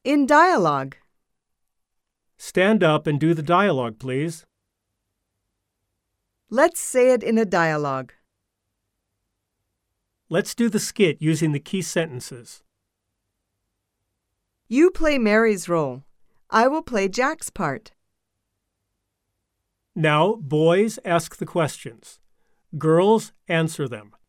In dialogue. Stand up and do the dialogue, please. Let's say it in a dialogue. Let's do the skit using the key sentences. You play Mary's role. I will play Jack's part. Now, boys ask the questions. Girls answer them.